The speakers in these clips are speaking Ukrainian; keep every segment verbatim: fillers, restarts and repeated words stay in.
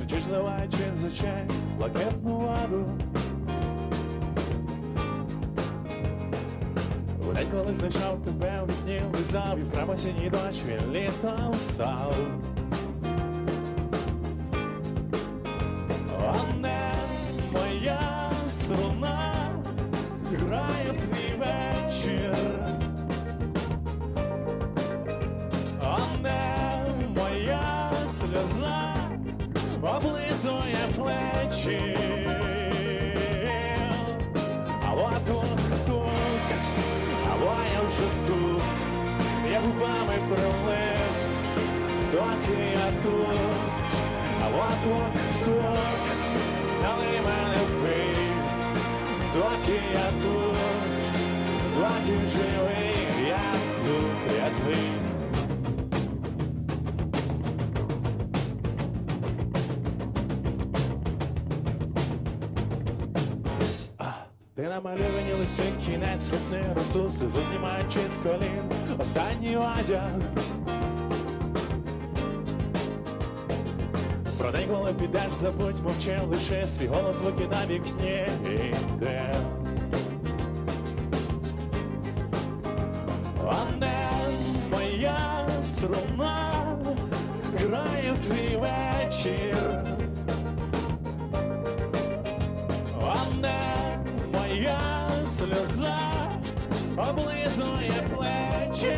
кричиш, зливаючи за чай блакитну воду. У день, коли знайшов тебе у вікні, лизав, і вкрав осінній дощ, він літом став. А не моя струна грає в твій вечір. А не моя сльоза облизує плечі. Алло, тук-тук, алло, я вже тут, я губами прилип, доки я тут. Алло, тук-тук, налий мене пий, доки я тут, доки живий, я тут, я твій. Ти намальовані листи, кінець весни, росу, сльозу знімаючи з колін, останній одяг. Про день, коли підеш, забудь, мовчи, лише свій голос звуки на вікні йде. А не моя струна грає в твій вечір. А не моя сльоза облизує плечі.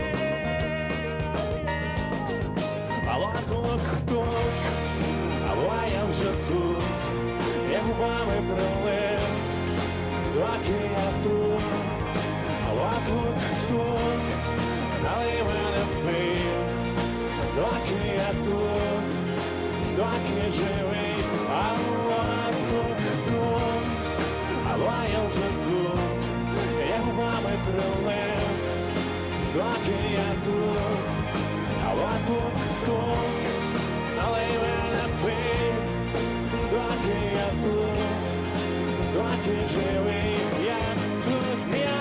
Алло, тук-тук, алло, я вже тут, я губами прилип, доки я тут. Алло, тук-тук, налий мене пий, доки я тут, доки живий. Алло, тук-тук, алло, я вже тут, я губами прилип, доки я тут. Алло, тук-тук, налий мене пий, доки я тут, доки живий, я тут, я.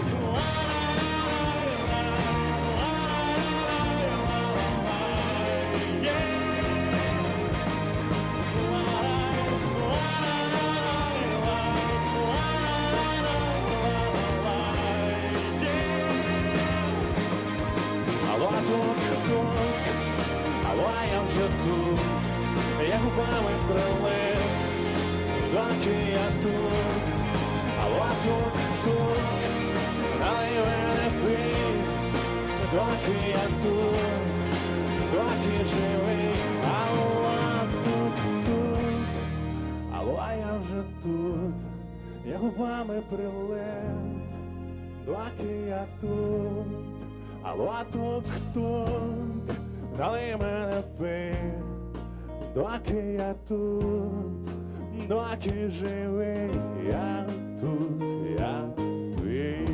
Алло, тук-тук, алло, я вже тут, я губами прилип, доки я тут. Алло, тук-тук, налий мене пий, доки я тут, доки живий. Алло, тук-тук, алло, я вже тут, я губами прилип, доки я тут. Алло, тук-тук, налий мене пий, доки я тут, доки живий, я тут, я твій.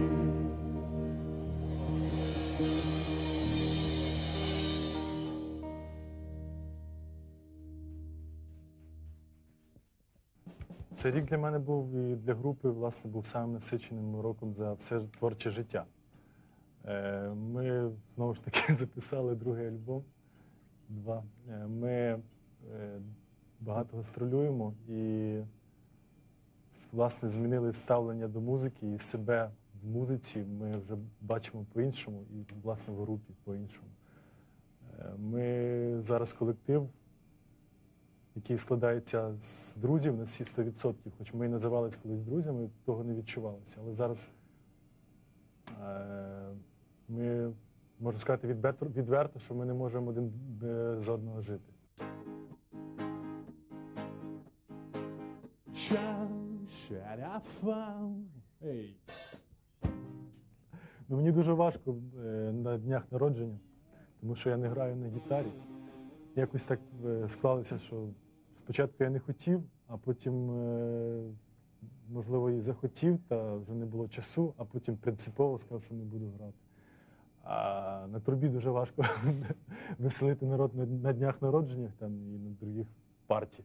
Цей рік для мене був і для групи, власне, був самим насиченим роком за все творче життя. Ми, знову ж таки, записали другий альбом, два. Ми багато гастролюємо і, власне, змінили ставлення до музики і себе в музиці ми вже бачимо по-іншому і, власне, в групі по-іншому. Ми зараз колектив, який складається з друзів на всі сто відсотків, хоч ми і називалися колись друзями, того не відчувалося. Але зараз ми, можу сказати відверто, відверто, що ми не можемо один без одного жити. Hey. Ну, мені дуже важко е, на днях народження, тому що я не граю на гітарі. Якось так е, склалося, що спочатку я не хотів, а потім, е, можливо, і захотів, та вже не було часу, а потім принципово сказав, що не буду грати. А на трубі дуже важко веселити народ на, на днях народження там, і на других партій.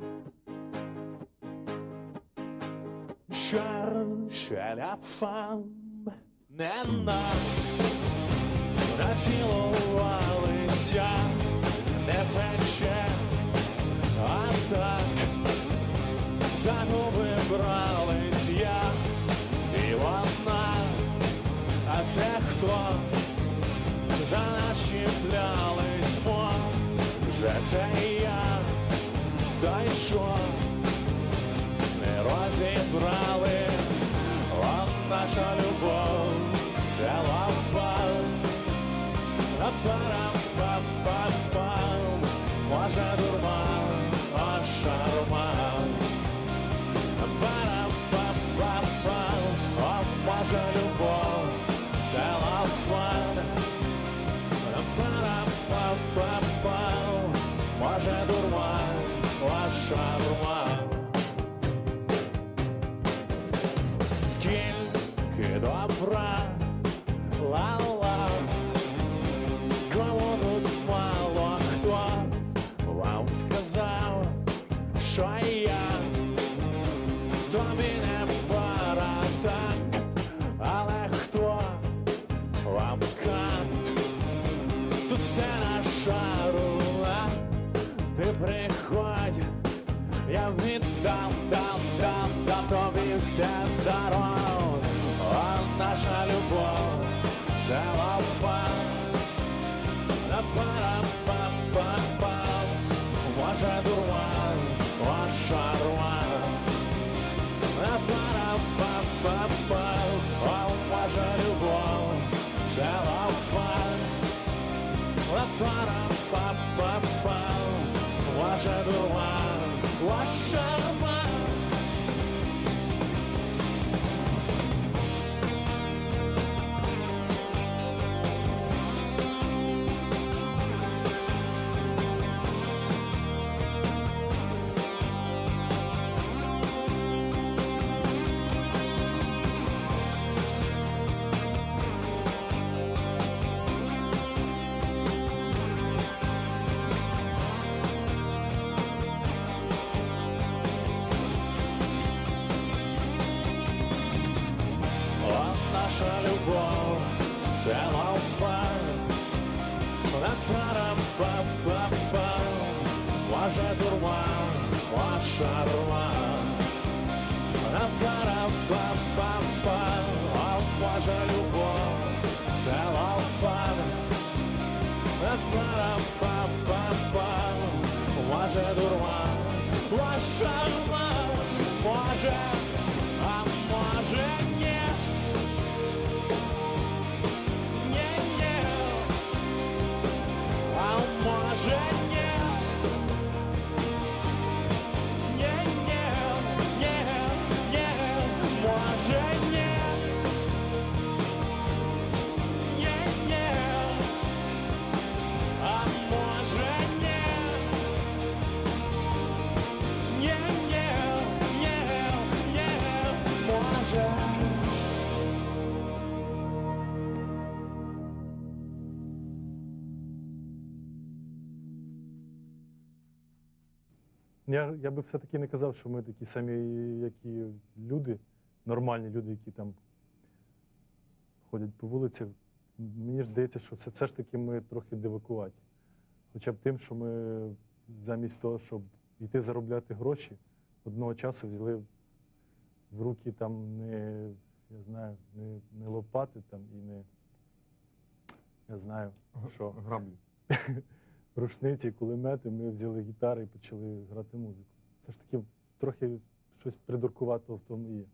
Не нам націлувалися, не пече, а так за губи брались я і вона, а це хто? За нас чіплялись, може це я, та й що? Не розібрали, а наша любов це лава. Па-па-па-па-па, може дурман, а шарман. Па-па-па-па, а може любов це лава. Па-па-па-па, може дурман, а шарман. Скільки добра, ла-ла, кому тут мало хто вам сказав, що я тобі не пара так, але хто вам кант, тут все на шару, а ти приходь, я віддам, дам, дам, дам тобі все даром, а наша любов це лафа. Па-па-па-па, може дурман, а шарман. Па-па-па-па, може любов це лафа. Па-па-па-па, може дурман, а шарман. Наша любов це лафа. Па-па-па-па, може дурман, а шарман. Па-па-па-па, може любов це лафа. Па-па-па-па, може дурман, а шарман. Може, а може ні. Може ні, ні, ні, ні, ні, може ні, ні, ні, а може ні, ні, ні, ні, ні, може. Я, я би все-таки не казав, що ми такі самі, як і люди, нормальні люди, які там ходять по вулицях. Мені ж здається, що це, це ж таки ми трохи дивакуваті. Хоча б тим, що ми замість того, щоб йти заробляти гроші, одного часу взяли в руки там не, я знаю, не, не лопати там і не, я знаю, що. Граблі. Рушниці, кулемети, ми взяли гітари і почали грати музику. Це ж таки трохи щось придуркуватого в тому є.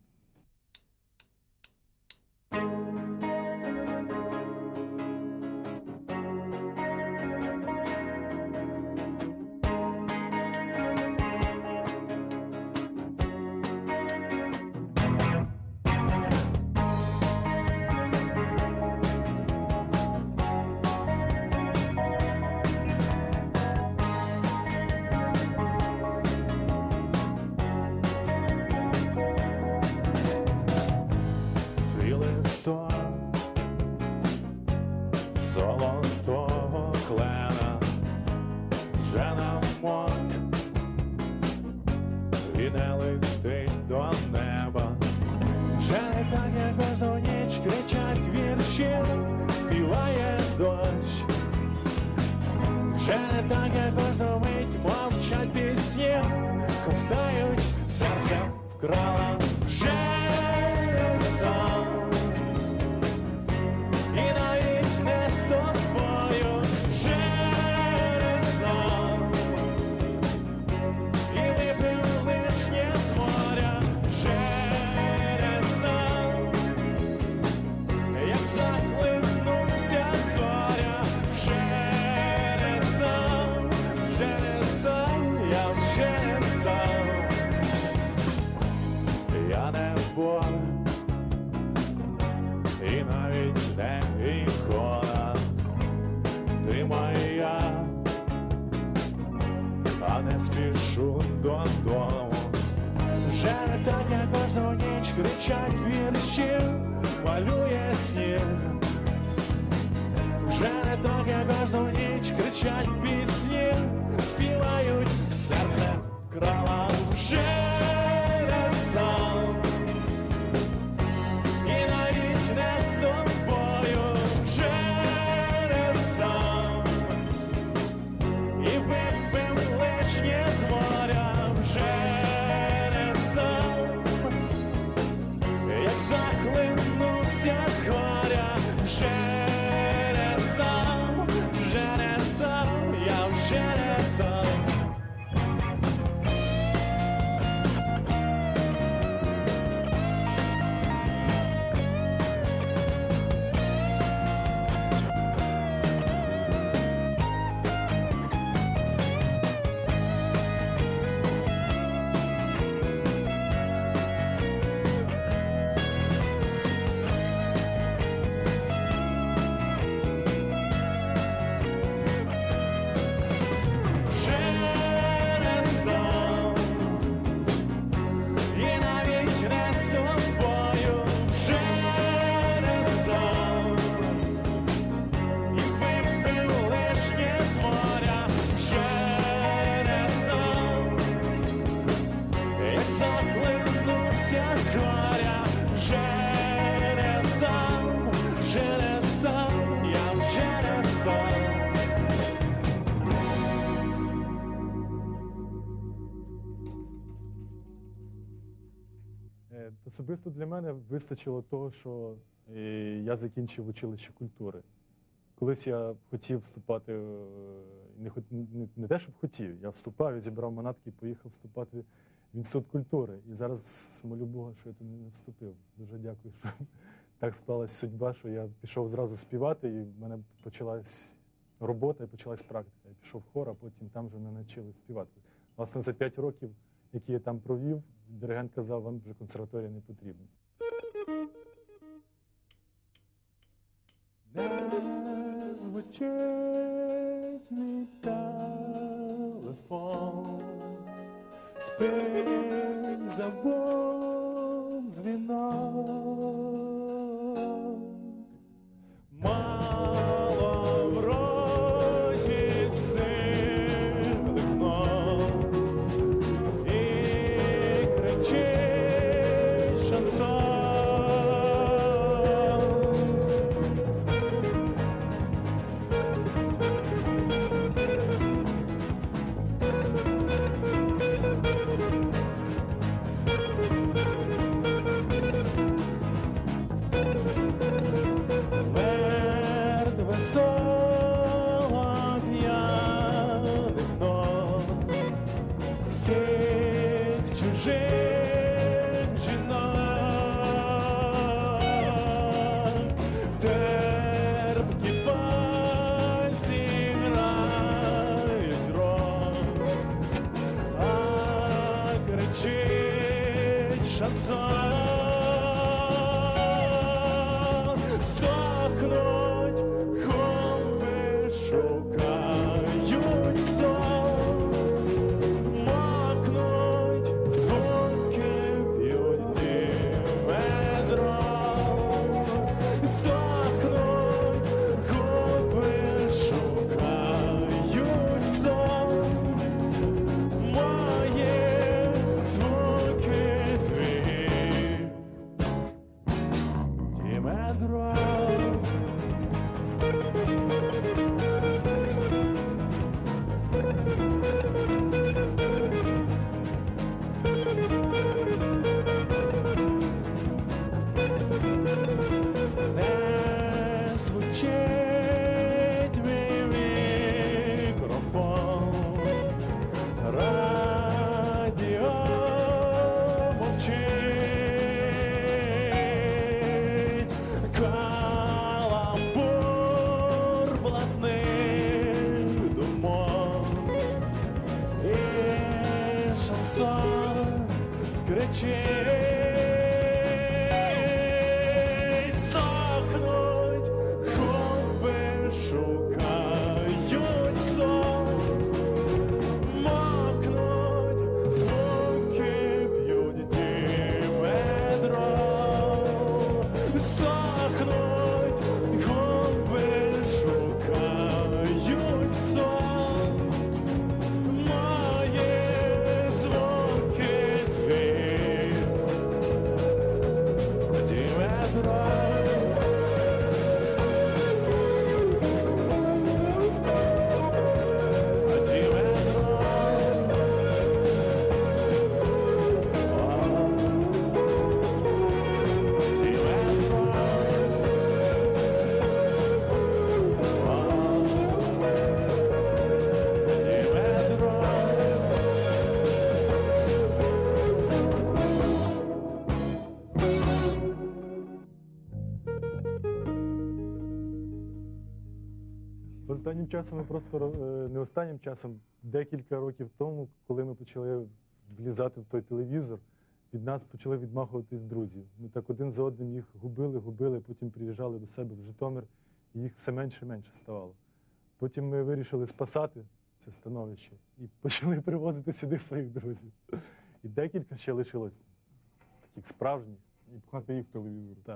Золотого клена вже намок і не летить до неба. Вже не так, як кожну ніч кричать вірші, співає дощ. Вже не так, як кожну мить мовчать пісні. вкрала вже сам. І навіть не з тобою вже сам. І випив лишнє з моря вже сам. Як захлинувся з горя вже сам. Вже не сам, я вже не сам. Я не Бог, і навіть не ікона. Ти моя, а не спішу додому. Вже не так, як кожну ніч кричать вірші, малює сніг. Вже не так, як кожну ніч кричать пісні, співають, серце вкрала вже не сам. І навіть не з тобою вже не сам. І випив лишнє з моря вже не сам. Як захлинувся з горя вже не сам. Вже не сам, я вже не сам. Особисто для мене вистачило того, що е, я закінчив училище культури. Колись я хотів вступати, е, не, не, не те, щоб хотів, я вступав, я зібрав манатки і поїхав вступати в Інститут культури. І зараз молю Бога, що я туди не вступив. Дуже дякую, що так склалась судьба, що я пішов зразу співати, і в мене почалась робота і почалась практика. Я пішов в хор, а потім там вже мене навчили співати. Власне, за п'ять років, які я там провів, диригент казав, вам вже консерваторія не потрібна. Не звучить мій телефон, спить забув дзвінок. Мало в роті стигло і кричить шансон. Останнім часом ми просто ро- е, не останнім часом, декілька років тому, коли ми почали влізати в той телевізор, від нас почали відмахуватись друзі. Ми так один за одним їх губили, губили, потім приїжджали до себе в Житомир, і їх все менше і менше ставало. Потім ми вирішили спасати це становище і почали привозити сюди своїх друзів. І декілька ще лишилось таких справжніх. І пхати їх в телевізор. Так.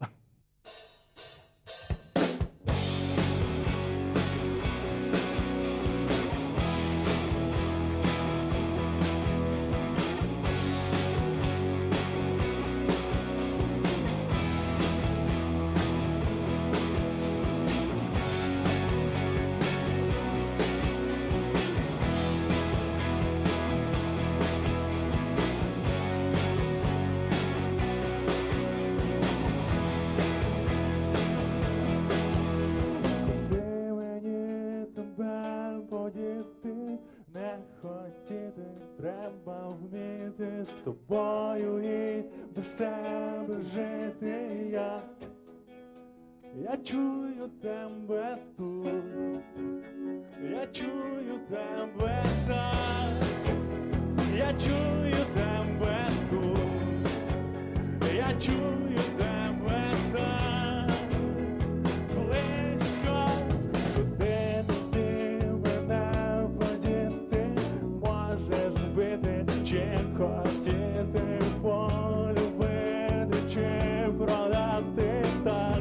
Куди мені тебе подіти, не хотіти, треба вміти з тобою і без тебе жити я. Я чую тебе тут, я чую тебе так, я чую тебе тут, я чую тебе так. Близько, куди ти мене подіти, можеш вбити чи хотіти, полюбити чи продати так.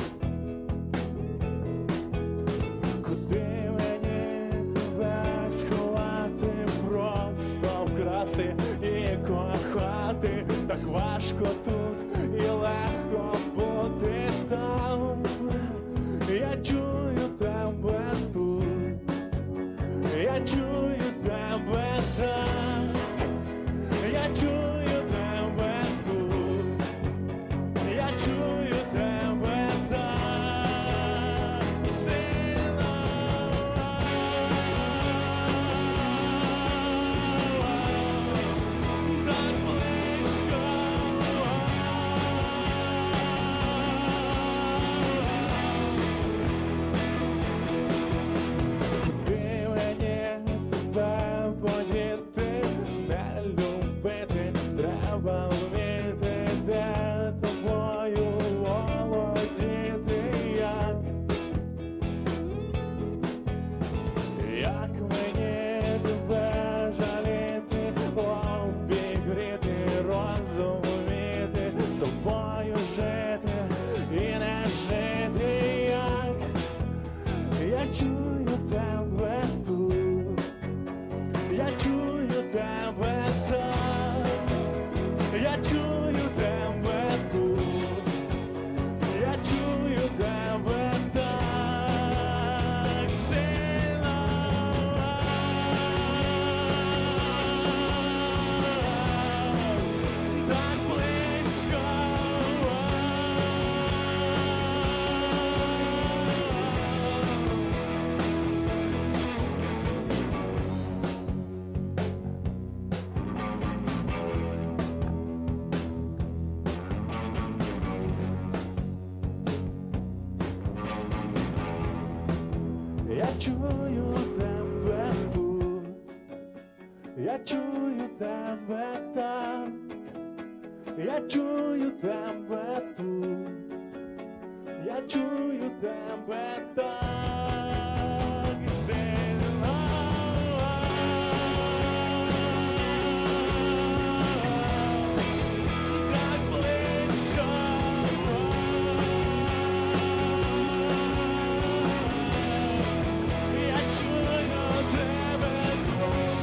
Куди мені тебе сховати, просто вкрасти і кохати, так важко тут і легко бути там. Я чую тебе тут, я чую тебе там, я чую тебе тут, я чую тебе так сильно. Так близько. Куди мені тебе подіти, не любити, треба вміти, де тобою володіти, як. Як мені тебе жаліти, обігріти, розуміти, з тобою жити і не жити, як. Я чую тебе тут, я чую тебе так, я чую тебе тут, я чую тебе так сильно. Так близько. Я чую тебе тут, я чую тебе там, я чую тебе тут, я чую тебе так сильно. Так близько. Я чую тебе тут.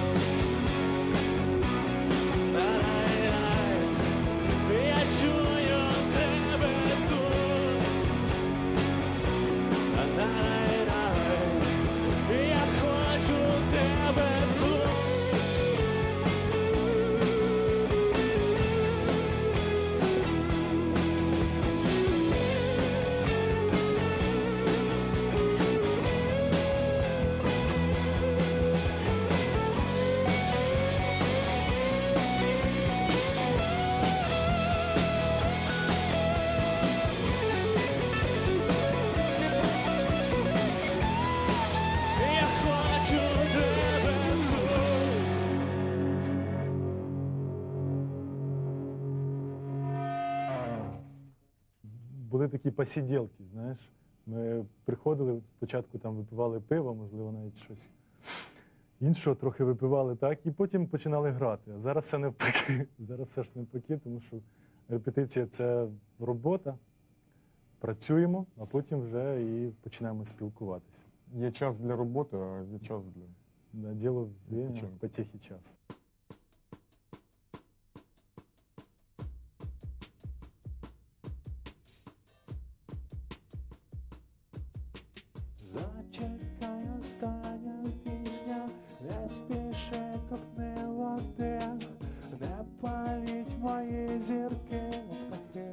Ай-ай-ай. Я чую тебе тут. Ай-ай-ай. були такі посиділки, знаєш. Ми приходили, спочатку там випивали пиво, можливо, навіть щось іншого, трохи випивали так, і потім починали грати. А зараз все навпаки, зараз все ж навпаки, тому що репетиція – це робота, працюємо, а потім вже і починаємо спілкуватися. Є час для роботи, а є час для... Да, діло время, Відпочинку. потехи час. Зачекай, остання пісня, не спіши, ковтни води, не паліть мої зірки, птахи.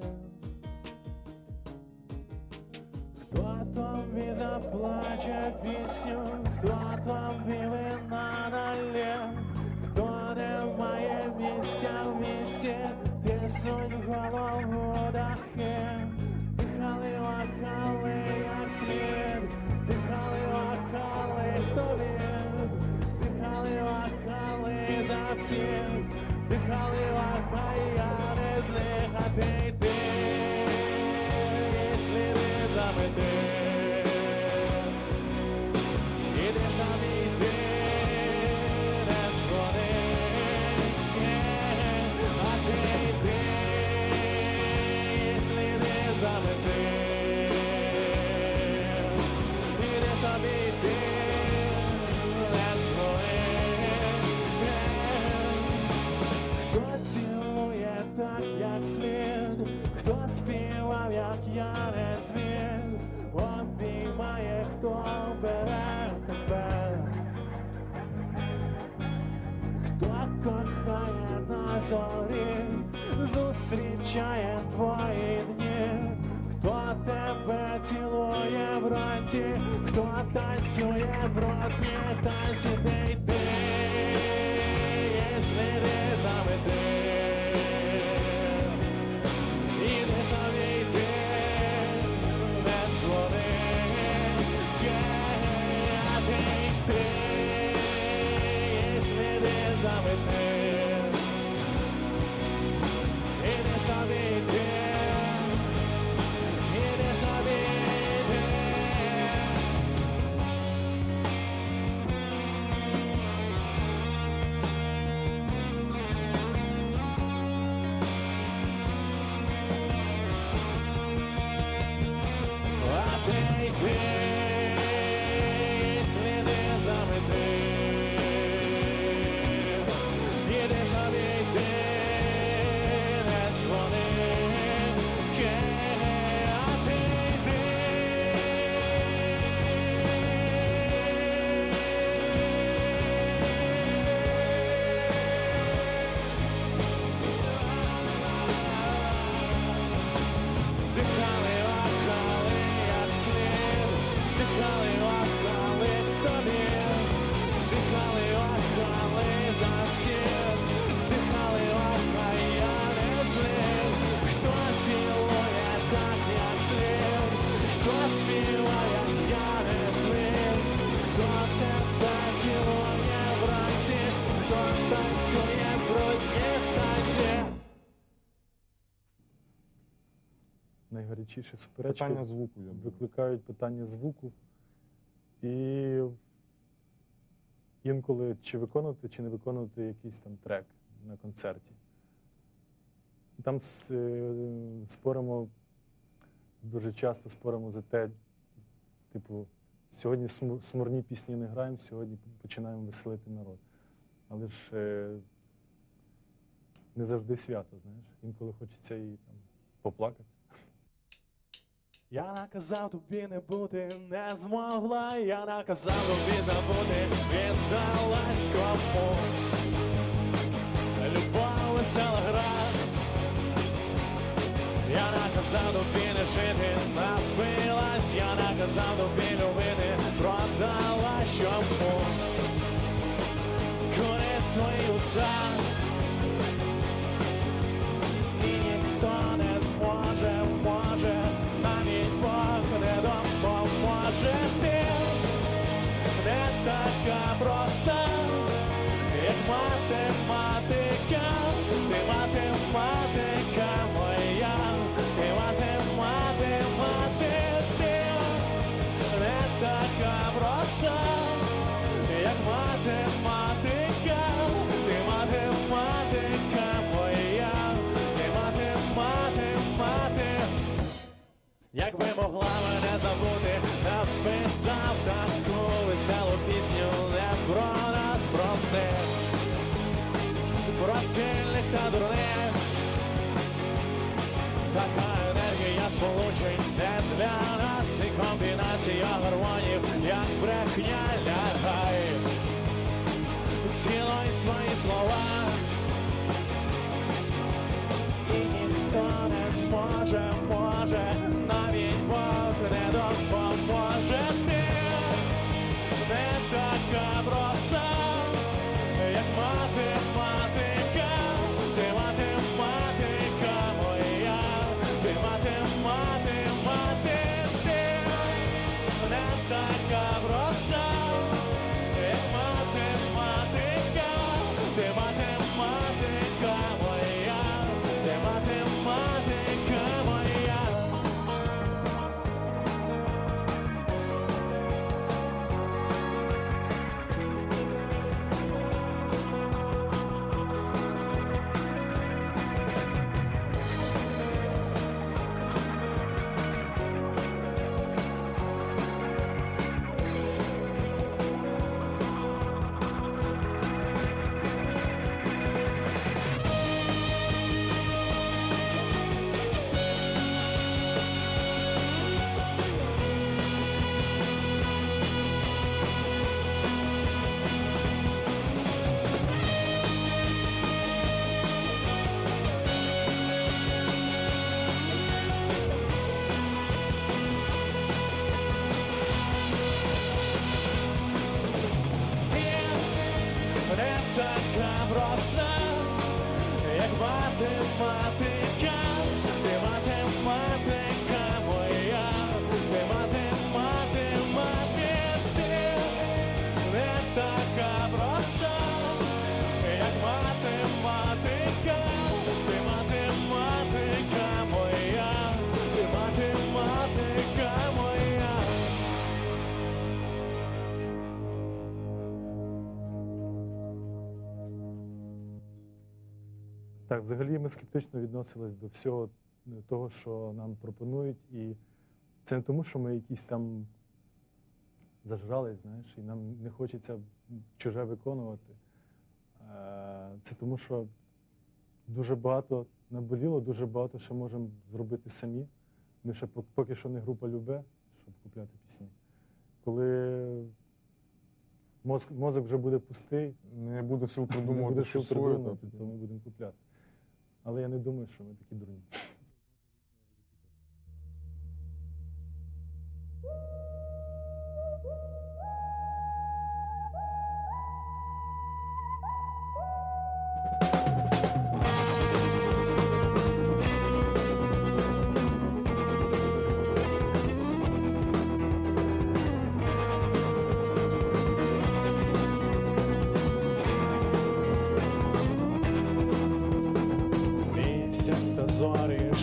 Хто тобі заплаче пісню, хто тобі вина налє, хто не має місця в місті, тиснуть в голову дахи, дихали, лахали, як слід. Дихали, лахали, хто він, дихали, лахали за всім, дихали, лахай, я не з них, а ти йди, і сліди замети, іди самі йди, не дзвони, а ти йди, і сліди замети. Собі йди, не дзвони. Хто цілує так, як слід, хто співав, як я не зміг, обіймає, хто бере тебе, хто кохає на зорі, зустрічає твої дні. Хто тебе цілує вранці, хто танцює брудні танці, де йди, і сліди замети, іди собі йди, не дзвони, а ти йди, і сліди замети, іди собі йди. Найгарячіші суперечки Питання звуку, я думаю. викликають питання звуку. І інколи чи виконувати, чи не виконувати якийсь там трек на концерті. Там споримо, дуже часто споримо за те, типу, сьогодні смурні пісні не граємо, сьогодні починаємо веселити народ. Але ж е, не завжди свято, знаєш. Інколи хочеться і там поплакати. Я наказав тобі не бути, не змогла, я наказав тобі забути, віддалась кому. Любов, весела гра. Я наказав тобі не жити, напилась, я наказав тобі любити, продала чому. Кури свої уста, і ніхто не зможе, може, навіть Бог не допоможе. Ти не така проста, як математика, ти математика моя, ти математика. Якби могла мене забути, написав таку веселу пісню не про нас, про них, про стільних та дурних. Така енергія сполучень не для нас, і комбінація гормонів, як брехня, лягай. Цілуй свої слова, і ніхто не зможе, може, навіть Бог не допоможе. Ти не така проста, як математика, ти математика моя, ти математика, ти не така проста, як математика, ти математика моя, ти математика моя. Не така проста, як математика, ти математика моя, ти математика, ти не така проста, як математика, ти математика моя, ти математика моя. Так, взагалі ми скептично відносились до всього того, що нам пропонують. І це не тому, що ми якісь там зажрались, знаєш, і нам не хочеться чуже виконувати. Це тому, що дуже багато наболіло, дуже багато ще можемо зробити самі. Ми ще поки що не група Любе, щоб купляти пісні. Коли мозок, мозок вже буде пустий, Не буде сил не придумувати, буде що сил своє. придумувати, то ми будемо купляти. Але я не думаю, що ми такі дурні. Місяць та зорі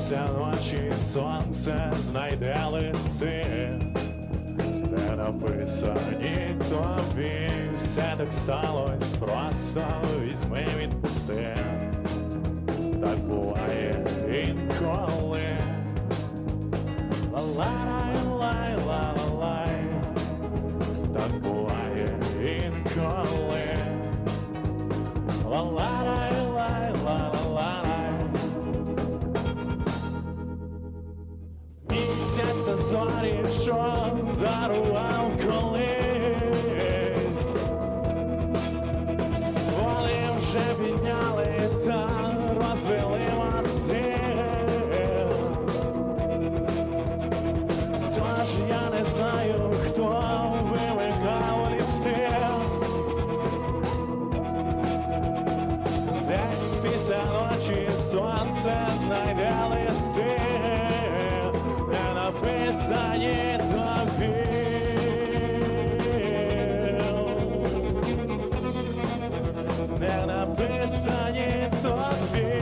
після ночі сонце знайде листи, де написані тобі. Все так сталось, просто візьми, відпусти. Так буває інколи. Ла-лай, ла-лай, так буває інколи. Ла-лай, лай, ла-ла-лай. Місяця зорі, що дарував колись, вони вже підняли та розвели мости. Тож я не знаю, хто вимикав ліфти. Десь після ночі сонце знайде листи, де написані тобі. Де написані тобі.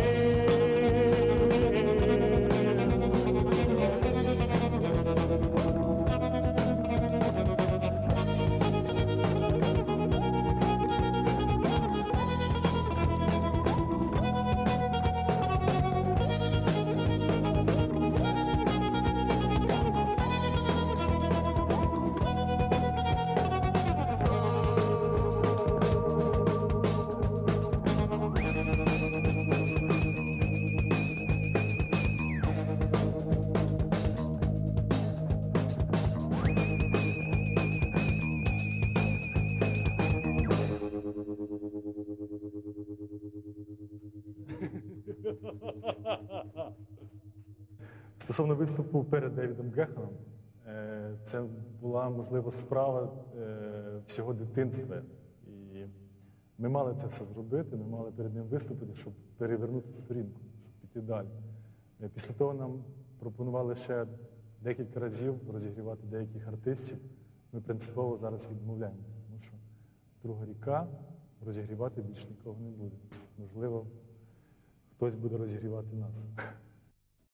Стосовно виступу перед Девідом Геханом, е, це була, можливо, справа е, всього дитинства. І ми мали це все зробити, ми мали перед ним виступити, щоб перевернути сторінку, щоб піти далі. Е, Після того нам пропонували ще декілька разів розігрівати деяких артистів. Ми принципово зараз відмовляємося, тому що друга ріка, розігрівати більше нікого не буде. Можливо, хтось буде розігрівати нас.